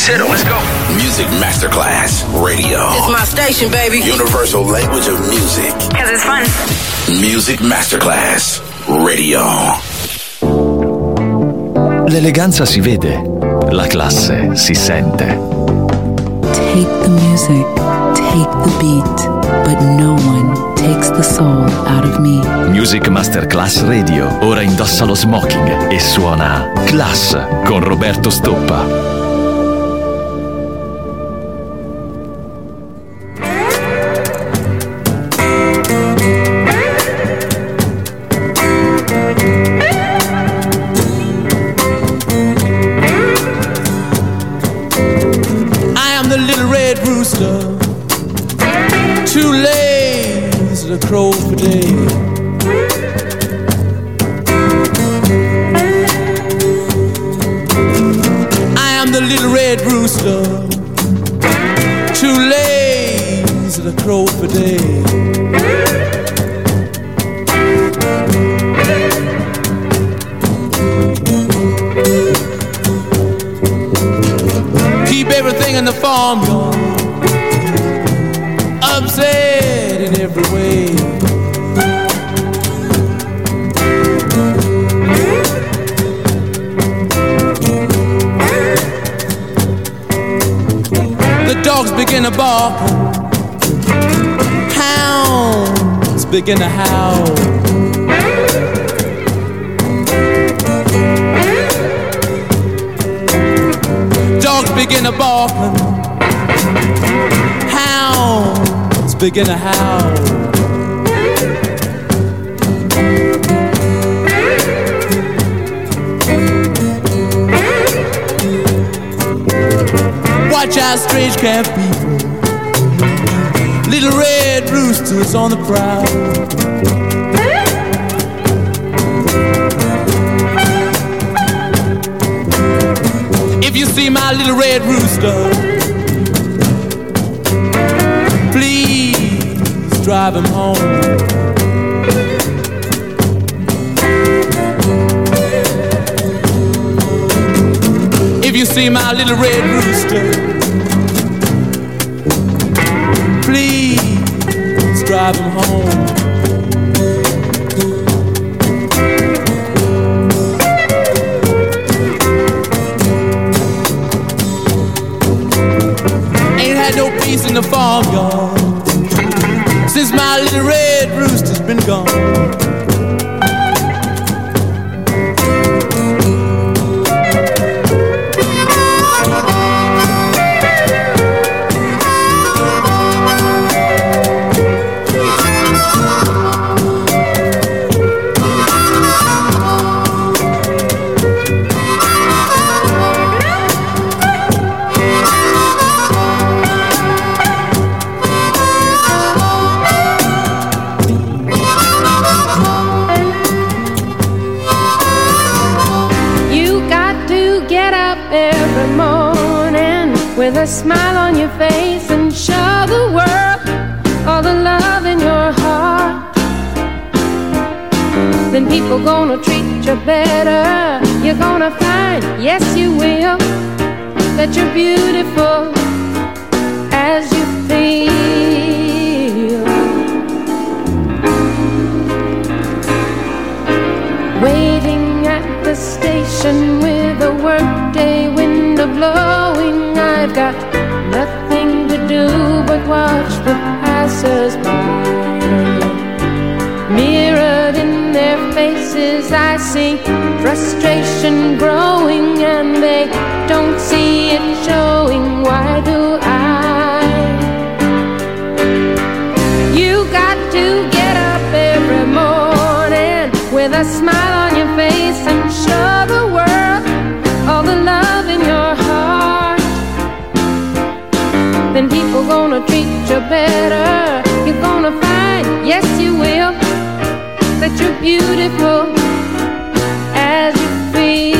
Let's hit 'em. Let's go. Music Masterclass Radio. It's my station, baby. Universal language of music. Because it's fun. Music Masterclass Radio. L'eleganza si vede, la classe si sente. Take the music, take the beat, but no one takes the soul out of me. Music Masterclass Radio. Ora indossa lo smoking e suona Class con Roberto Stoppa. Too lazy to crow for day. I am the little red rooster, too lazy to crow for day. Keep everything in the farmyard upset in every way. The dogs begin to bark, hounds begin to howl. Dogs begin to bark, hounds begin to howl. Watch out, strange camp people, little red roosters on the prowl. If you see my little red rooster, please drive him home. If you see my little red rooster, please drive him home. Ain't had no peace in the farmyard since my little red rooster's been gone. With a smile on your face and show the world all the love in your heart. Then people gonna treat you better. You're gonna find, yes you will, that you're beautiful as you feel. Waiting at the station with a workday window blowing, I've got nothing to do but watch the passers-by. Mirrored in their faces I see frustration growing, and they don't see it showing. Why do I? You got to get up every morning with a smile on your face and show the world all the love in your heart. Then people gonna treat you better. You're gonna find, yes you will, that you're beautiful as you feel.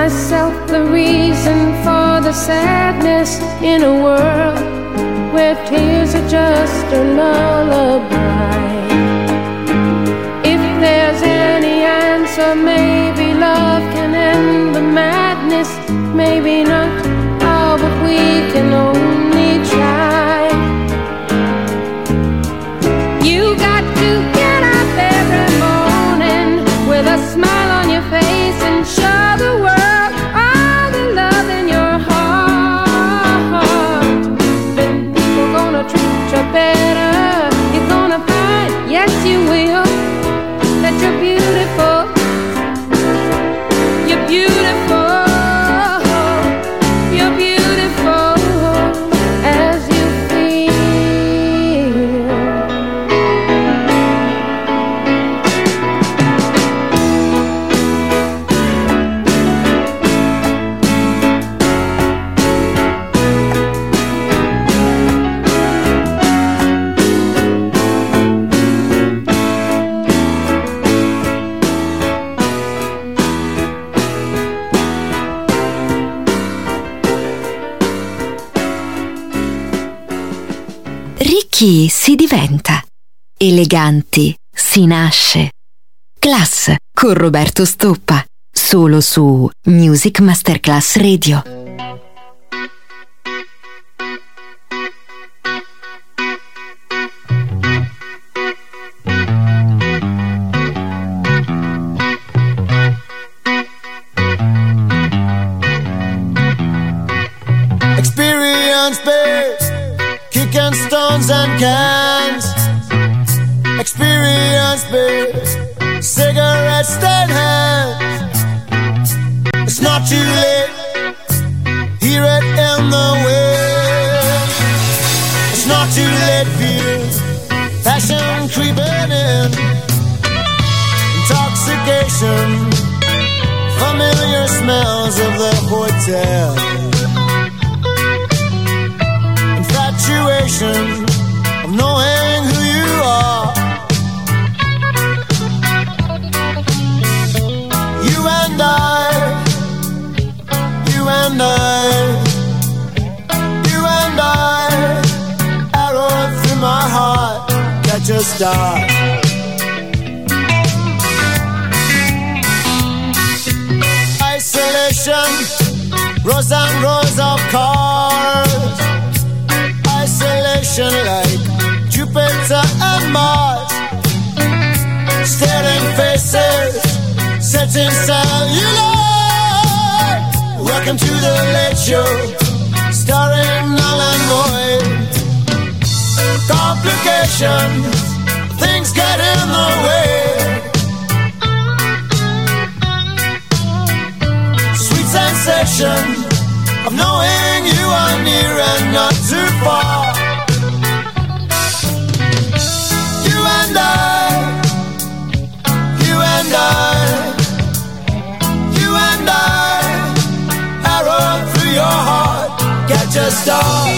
myself the reason for the sadness in a world where tears are just a lullaby. If there's any answer, maybe love can end the madness. Maybe not, oh, but we can only try. You got to get up every morning with a smile on your face and show the world all the love in your heart. Then people gonna treat you better. You're gonna find, yes you will, that you're beautiful. You're beautiful. You're beautiful as you feel. Ricchi si diventa, eleganti si nasce. Class con Roberto Stoppa, solo su Music Masterclass Radio. Experience-based, kicking stones and cans. Experience-based, cigarette stand hands. It's not too late, hear it in the wind. It's not too late, feel passion creeping in. Intoxication, familiar smells of the hotel. Infatuation of knowing who you are. You and I, you and I, you and I, arrow through my heart, catch a star. Isolation, rows and rows of cars. Isolation like Jupiter and Mars. Staring faces, setting cellular. Welcome to the Late Show, starring Alan Boyd. Complications, things get in the way. Sweet sensation of knowing you are near and not too far. You and I, you and I, you and I, arrow through your heart, catch a star.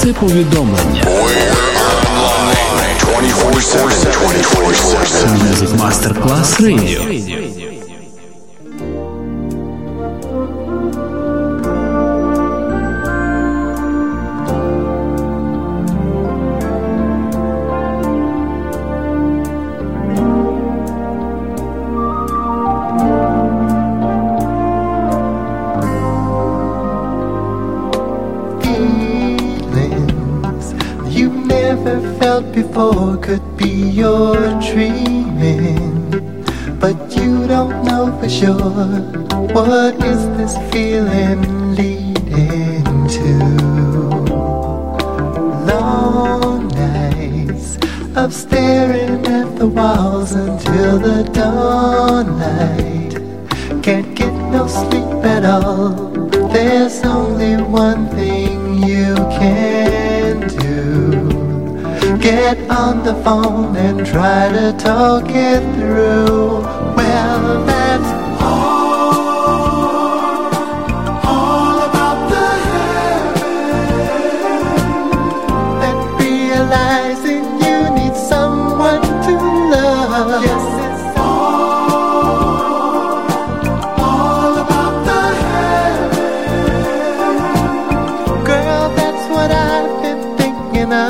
Więcej повідомлення. 24/7 Music Masterclass Radio. Before could be your dreaming, but you don't know for sure. What is this feeling leading to? Long nights of staring at the walls until the dawn light. Can't get no sleep at all. There's only one thing you can do. Get on the phone and try to talk it through. Well, that's all about the heaven. That realizing you need someone to love. Yes, it's all about the heaven. Girl, that's what I've been thinking of.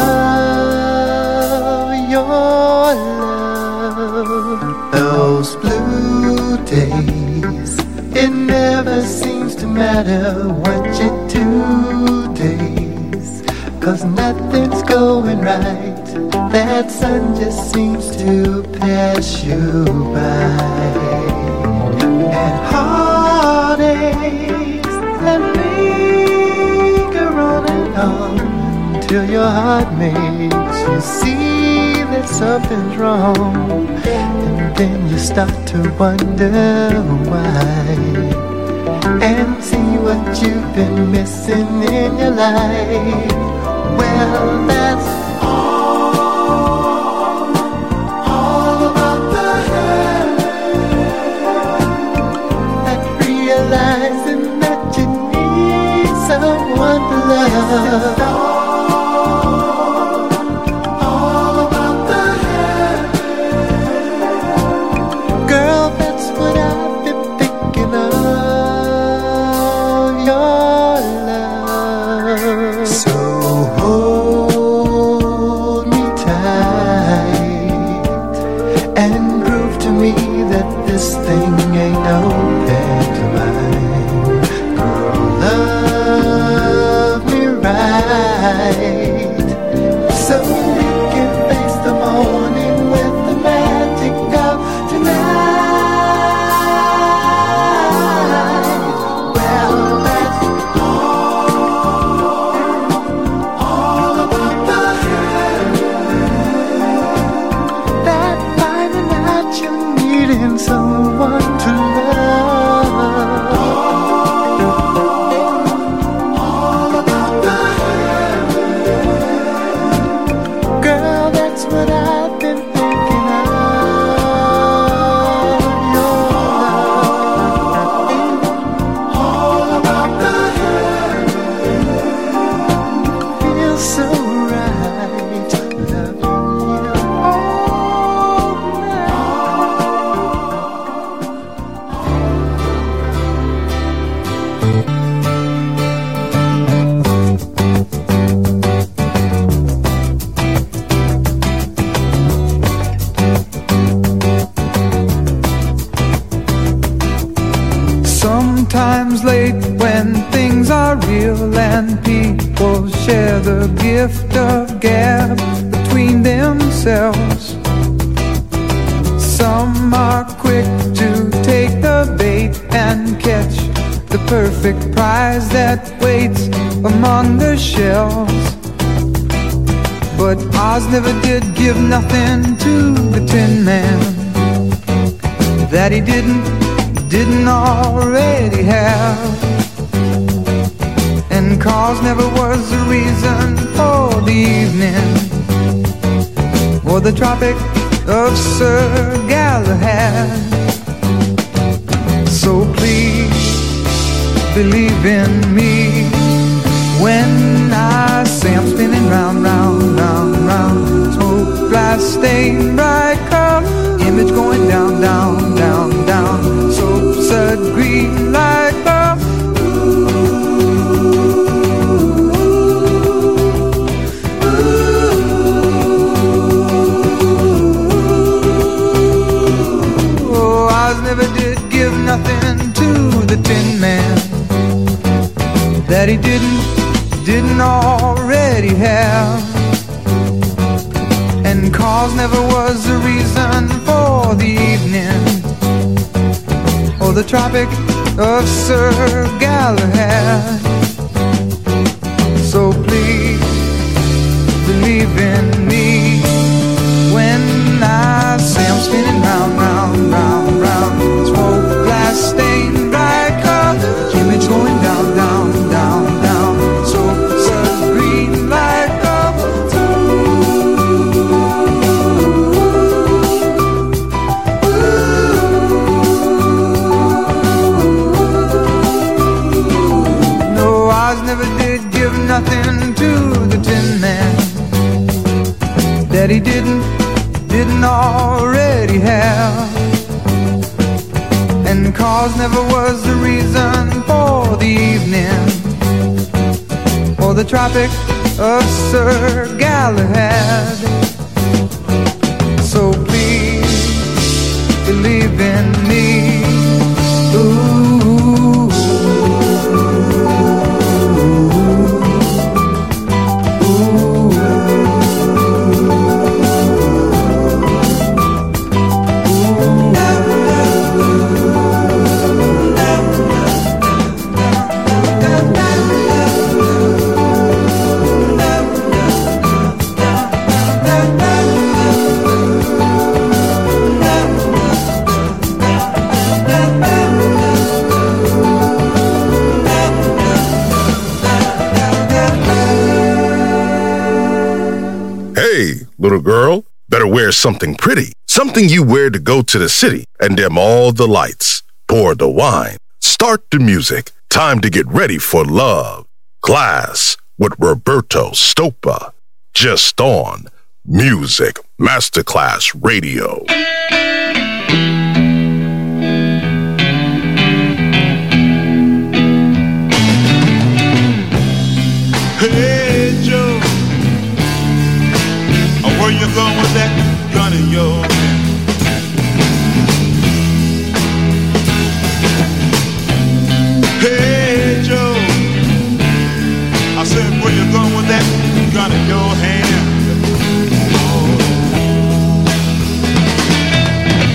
Those blue days, it never seems to matter what you do days, 'cause nothing's going right. That sun just seems to pass you by. And heartaches that linger on and on till your heart makes you see that something's wrong. And then you start to wonder why, and see what you've been missing in your life. Well, that's all about the heaven. That realizing that you need someone to love. Sometimes late when things are real and people share the gift of gab between themselves. Some are quick to take the bait and catch the perfect prize that waits among the shelves. But Oz never did give nothing to the Tin Man that he didn't already have. And cause never was the reason for the evening or the Tropic of Sir Galahad. So please believe in me when I say I'm spinning glass stained bright color, image going down, down, down, down, soap-sud green light bulb. Oh, Oz never did give nothing to the Tin Man that he didn't already have. And cause never was the reason for the evening or the Tropic of Sir Galahad. So please believe in me when I say I'm spinning round, round, round, round. Smoke glass stained bright color, image going down, down, down, down. So sun green light up. No, Oz never did give nothing to the Tin Man that he didn't already have. And cause never was the reason for the evening or the Tropic of Sir Galahad. So please believe in me. Ooh. Little girl, better wear something pretty, something you wear to go to the city and dim all the lights. Pour the wine, start the music. Time to get ready for love. Class with Roberto Stoppa. Just on Music Masterclass Radio. Hey Joe, where you going with that gun in your hand? Hey Joe, I said where you going with that gun in your hand? Oh.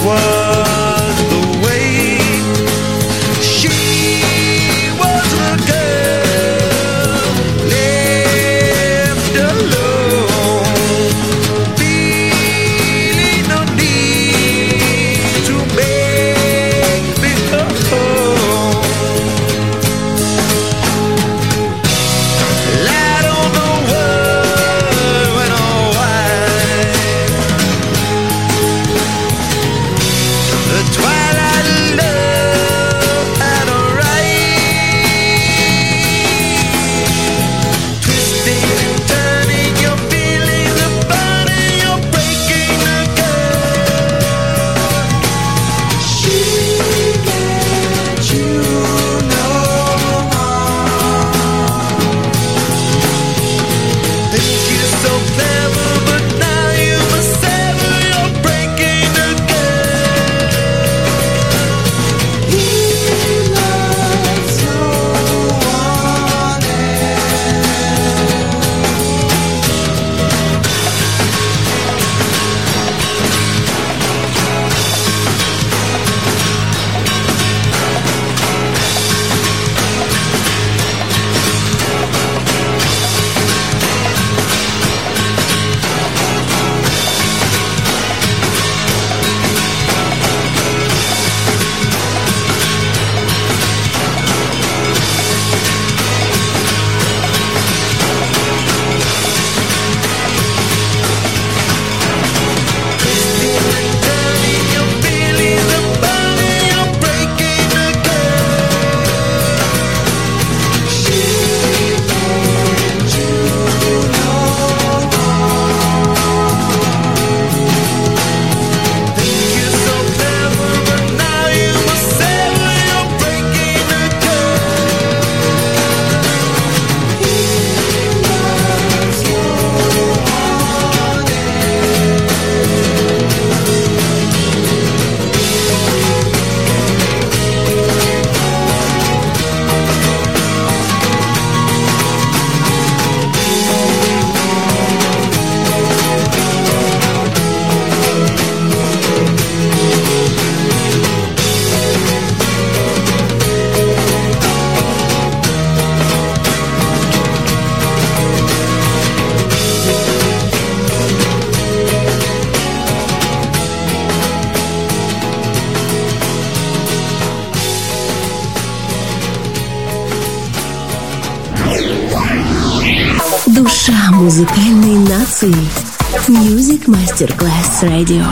was the way she was a girl left alone, feeling no need to beg me home. Light on the world went all white. The twilight of love had a right. Twisting and turning your feelings apart and you're breaking the girl. She let you know. Think you're so clever, but now you must sever. You're breaking the girl. He loves no one twisting and turning your feelings apart and you're breaking the girl. She let you know. Think you're so clever, but now you must sever. You're breaking the girl. He loves no one Душа музыкальной нации. Music Masterclass Radio.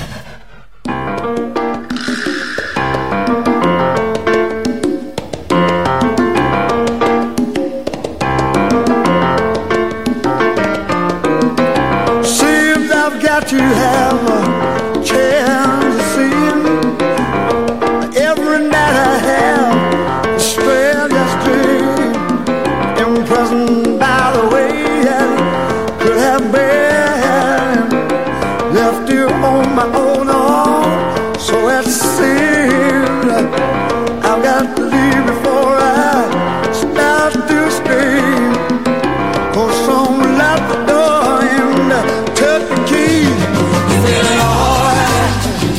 Seems I've got to have a chance to see him. Every night I have a stranger's dream, imprisoned by the way I could have been left you on my own arm. So it seems I've got to leave before I start to scream. 'Cause someone left the door and took the key. Feeling alright.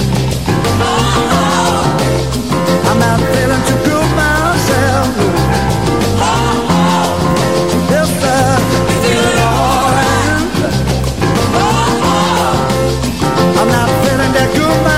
I'm not feeling too good myself. Yes, sir. Feeling alright. I'm not feeling that good myself.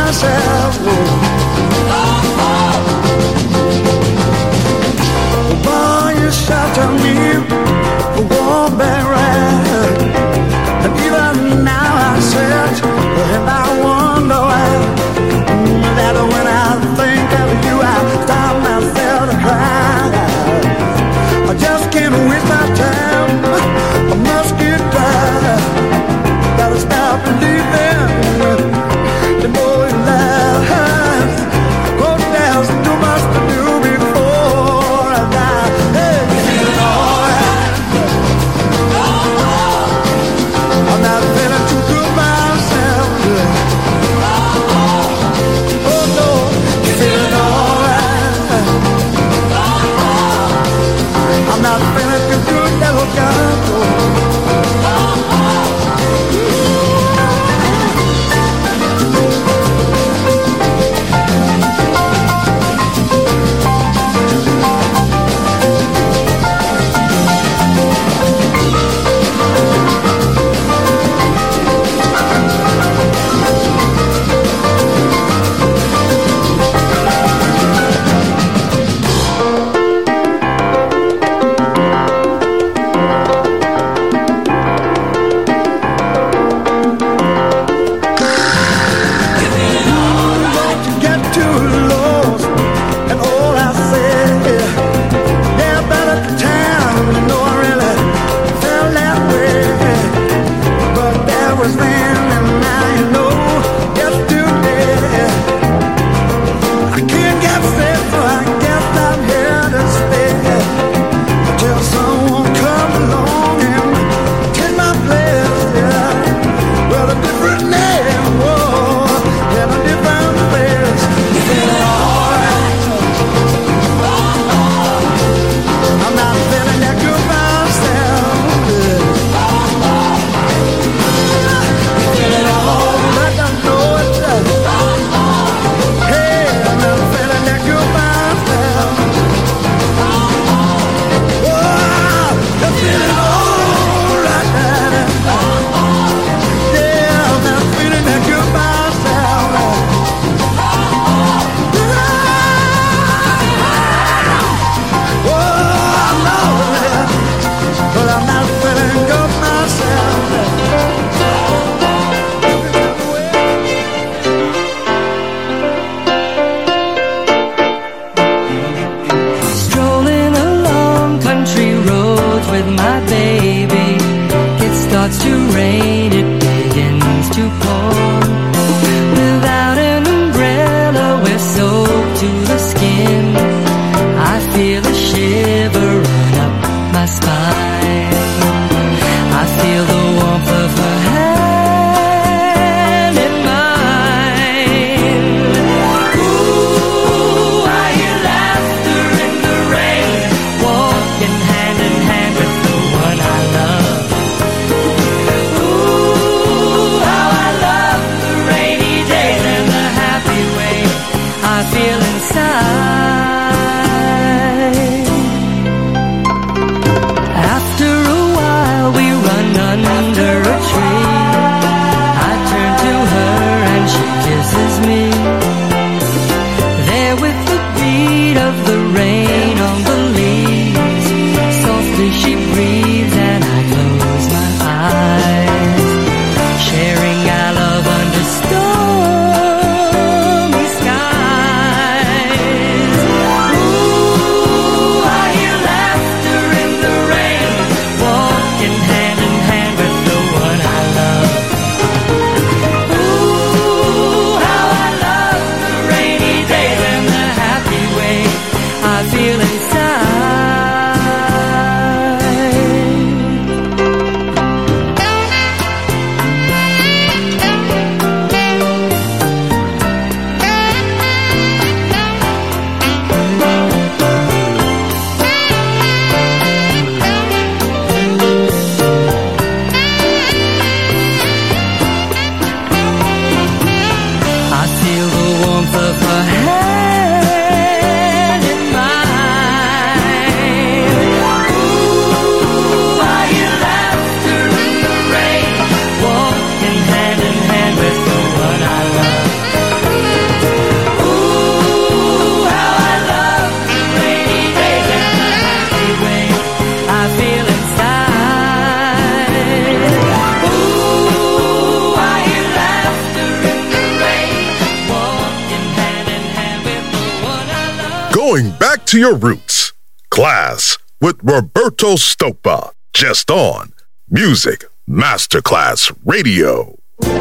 Going back to your roots. Class with Roberto Stoppa. Just on Music Masterclass Radio.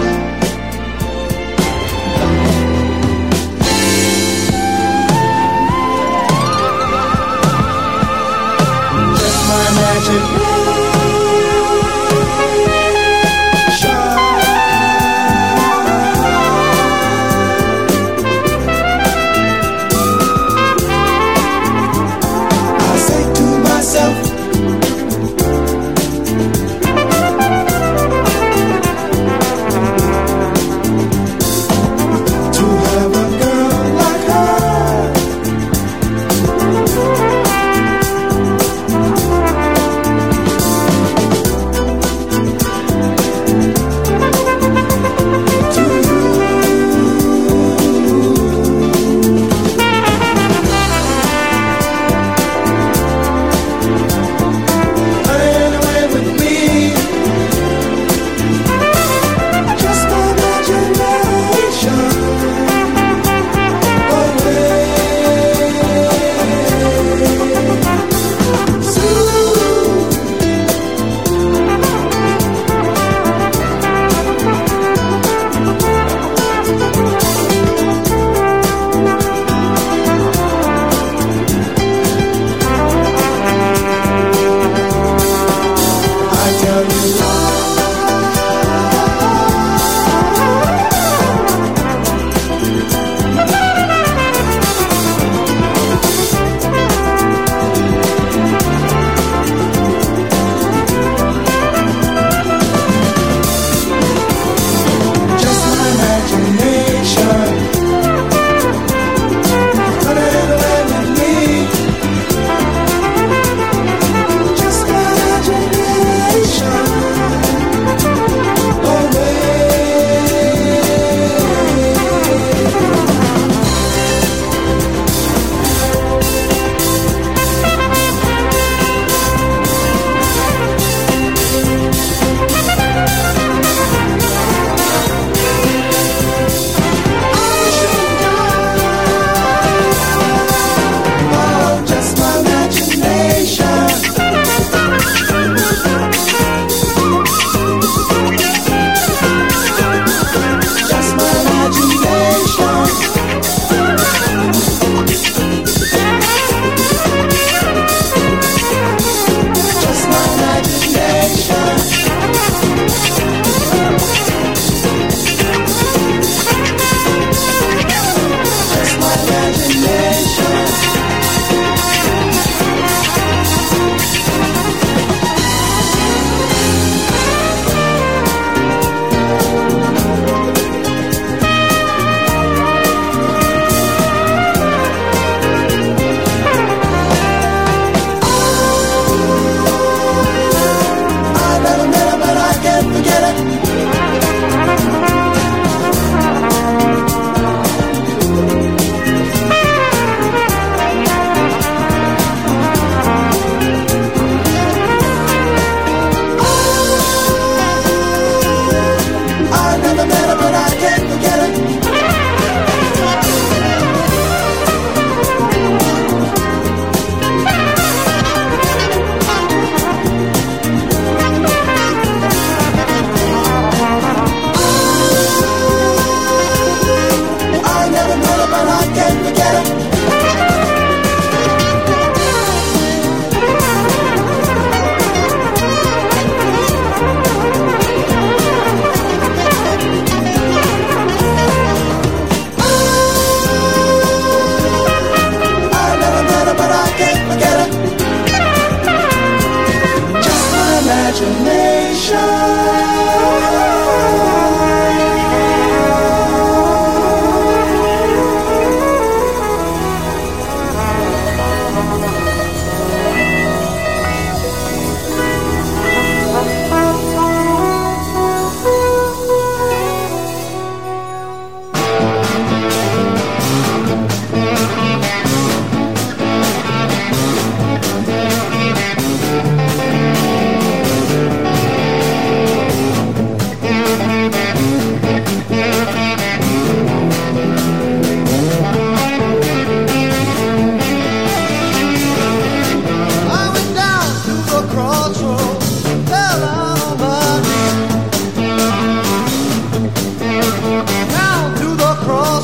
Just my magic.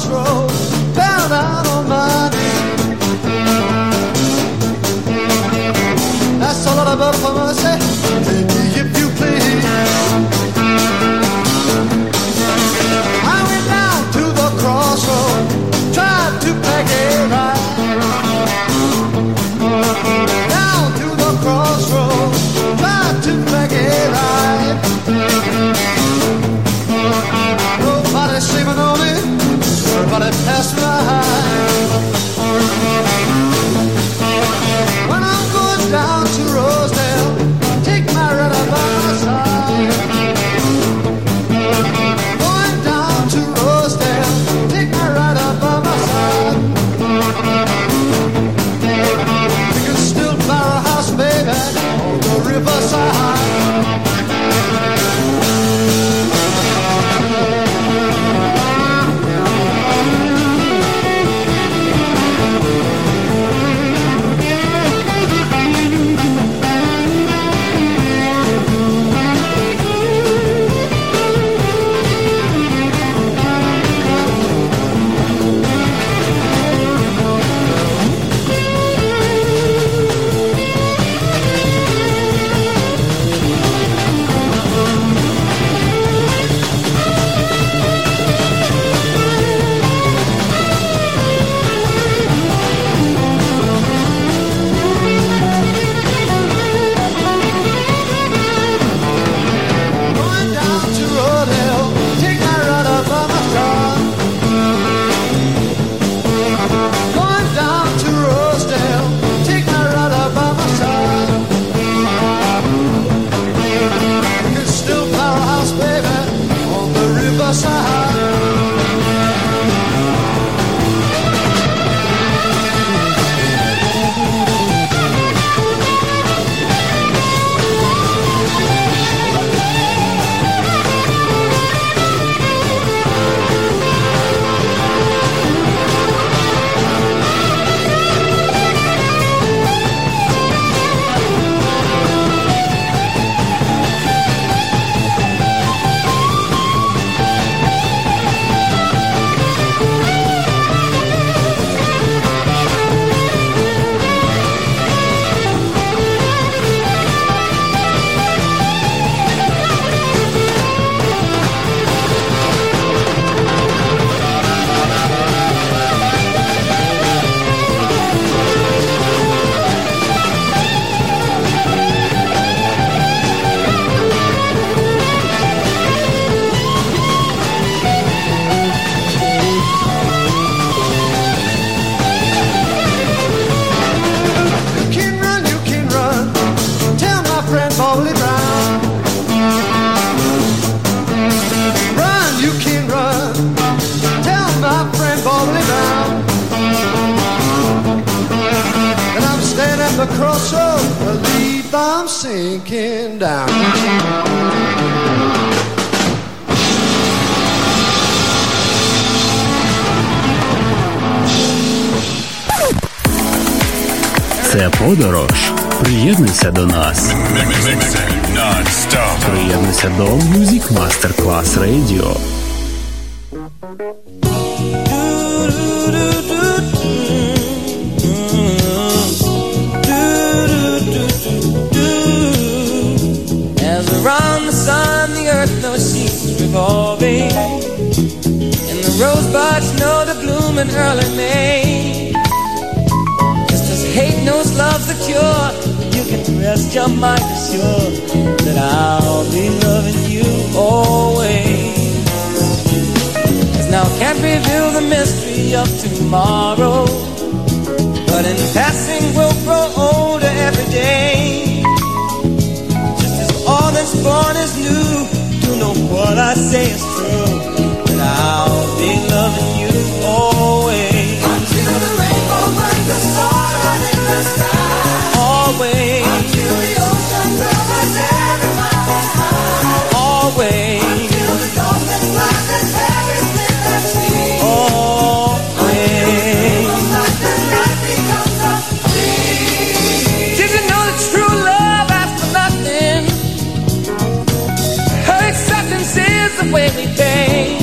crossroads, bow down on my knees. That's all I beg for mercy, take me if you please. I went down to the crossroads, tried to make it right. Down to the crossroads, tried to make it right. Nobody sleeping on me, nobody passed my high. When I'm going down to Rosedale, take my ride by my side. Going down to Rosedale, take my ride by my side. You can still buy a house, baby, on the riverside. The crossroads, believe I'm sinking down. Це подорож. Приєднуйся до нас. Приєднуйся до Music Masterclass Radio. Around the sun, the earth knows she's revolving, and the rosebuds know to bloom in early May. Just as hate knows love's the cure, you can rest your mind assured that I'll be loving you always. 'Cause now can't reveal the mystery of tomorrow, but in passing we'll grow older every day. All that's born is new. You know what I say is true, that I'll be loving you always. Until the rainbow burns the sun in the sky. Always. Until the ocean covers every mountain high. Always. Until the ghost that flies and everything that sees. Always. Until the light becomes a dream. Did you know that true love asks for nothing? Her acceptance is the way we pay.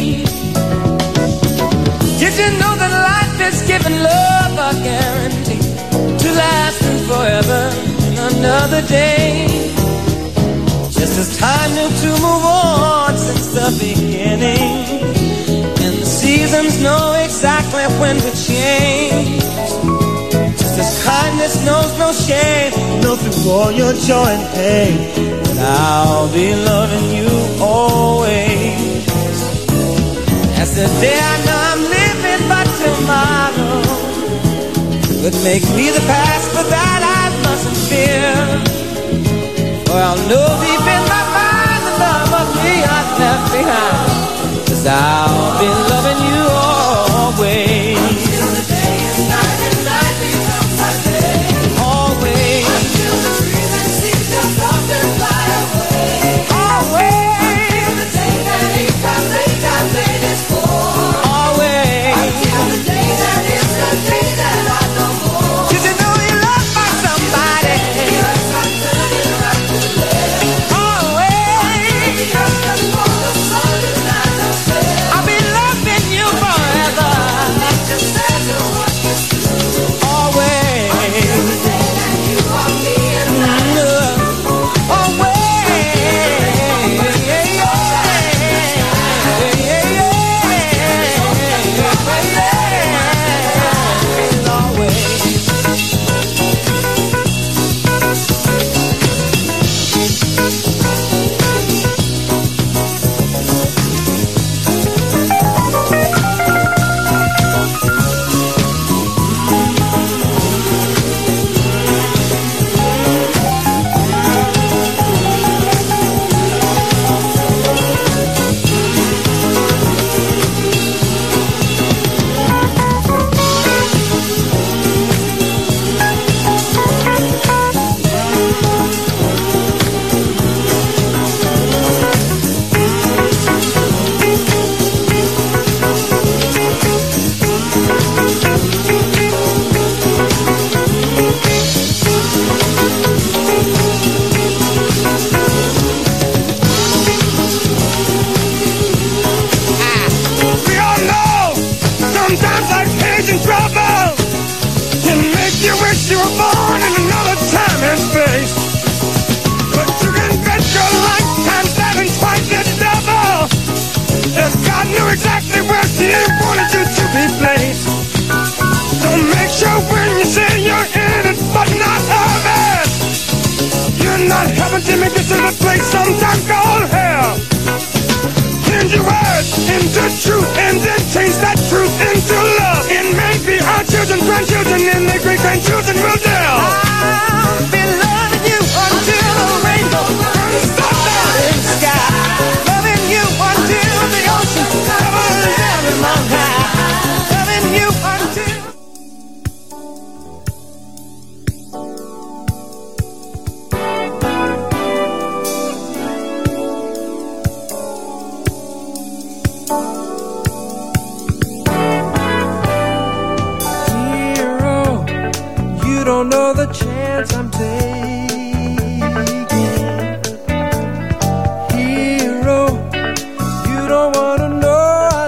you know that life is giving love a guarantee to last and forever in another day? Just as time knew to move on since the beginning, and the seasons know exactly when to change. Just as kindness knows no shame, know through all your joy and pain, and I'll be loving you always. As the day I know I'm living, but tomorrow could make me the past, but that I mustn't fear. For I'll know deep in my mind the love of me I've left behind, 'cause I'll be loving you always. Until the day is night and night becomes a day. Always. Until the trees and seas just stop and fly away. Always. Until the day that he comes, they got made it for. Always. Until the day that is the day that I know more. 'Cause you know you love by somebody. Yes, I'm turning right to left. Always. Just before the sun is not the best. I'll be loving you forever. Just as you want me to. Always. Until the day that you are me and I. Always. Yeah, yeah. We all know sometimes like pains and trouble can make you wish you were born in another time and space. But you can bet your lifetime's having twice the double. If God knew exactly where He wanted you to be placed. So make sure when you say you're in it but not of it, you're not heaven to me. This is a place sometimes called hell. Change your words into truth and then change that truth into love. And maybe our children, grandchildren, and their great-grandchildren will tell. I'll be loving you until the rainbow comes down in the sky. Loving you until the ocean covers every mountain. Loving you until... Hero, you don't know the chance I'm taking. Hero, you don't wanna know I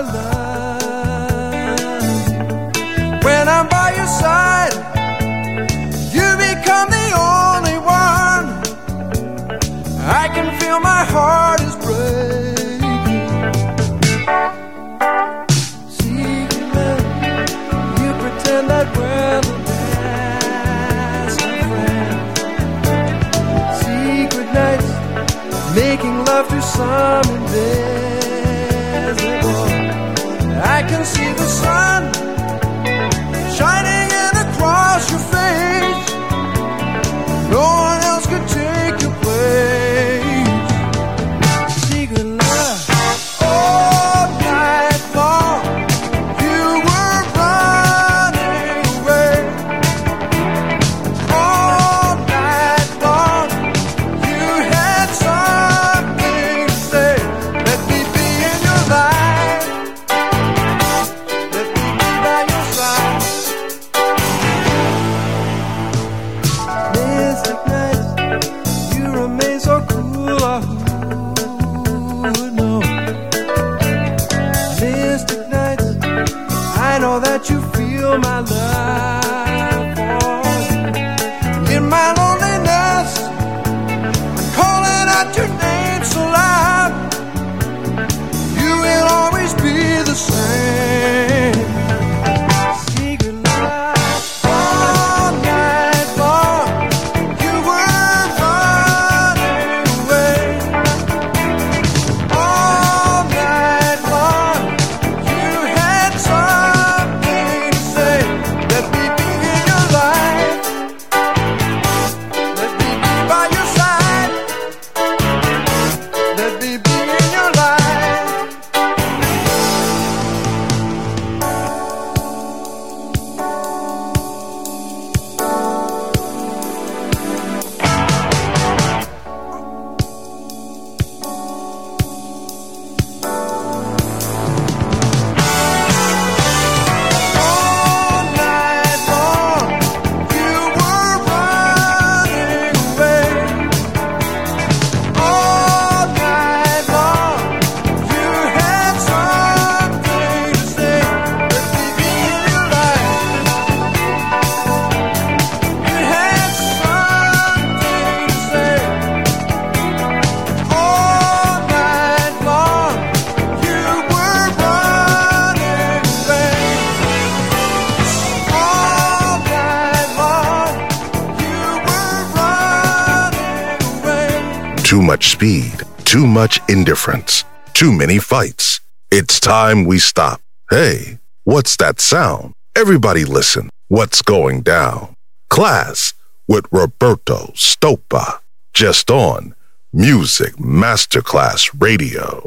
love you. When I'm by your side, you become the only one. I can feel my heart is breaking. Secret, you pretend that we're the best of friends. Secret nights, making love to some invisible. I can see the sun shining in across your face. No one else could take your place. Secret love, all night long, you were running away. All night long, you had something to say. Let me be in your life. Let Too much speed, too much indifference, too many fights. It's time we stop. Hey, what's that sound? Everybody listen. What's going down? Class with Roberto Stoppa. Just on Music Masterclass Radio.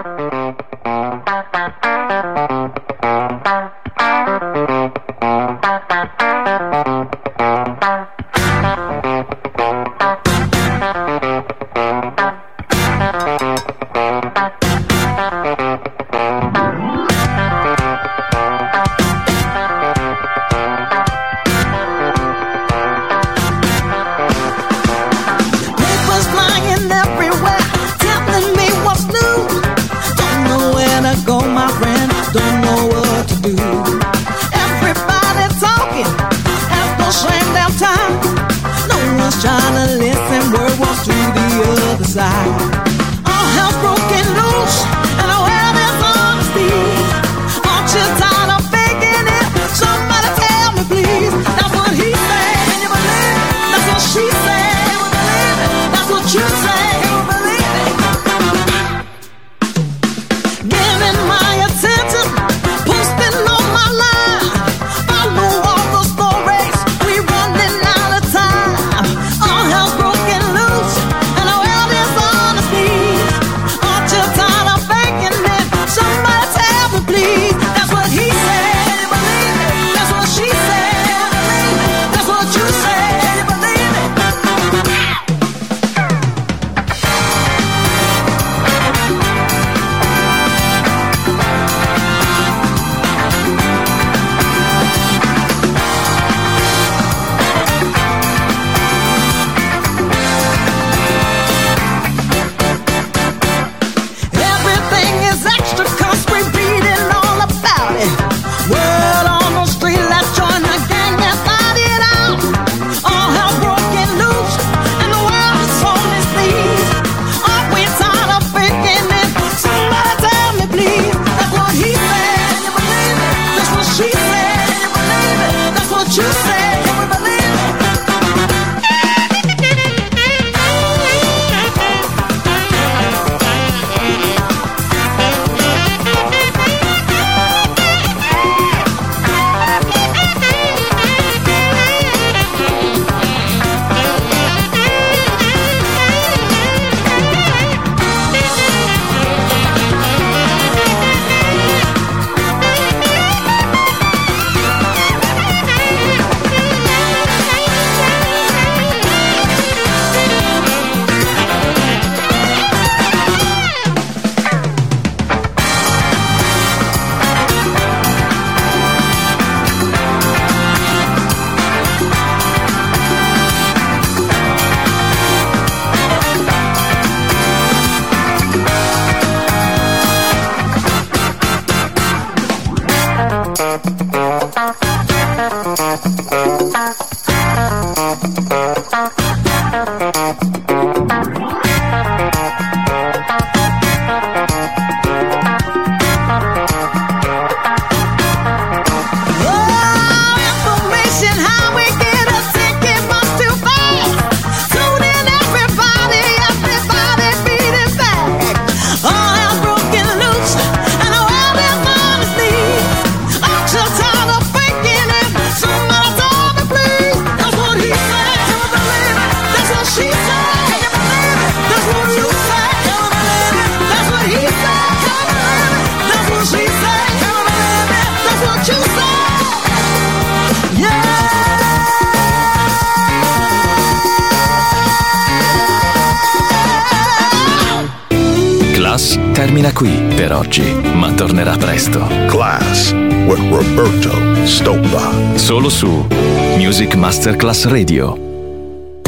Termina qui per oggi, ma tornerà presto. Class with Roberto Stoppa. Solo su Music Masterclass Radio.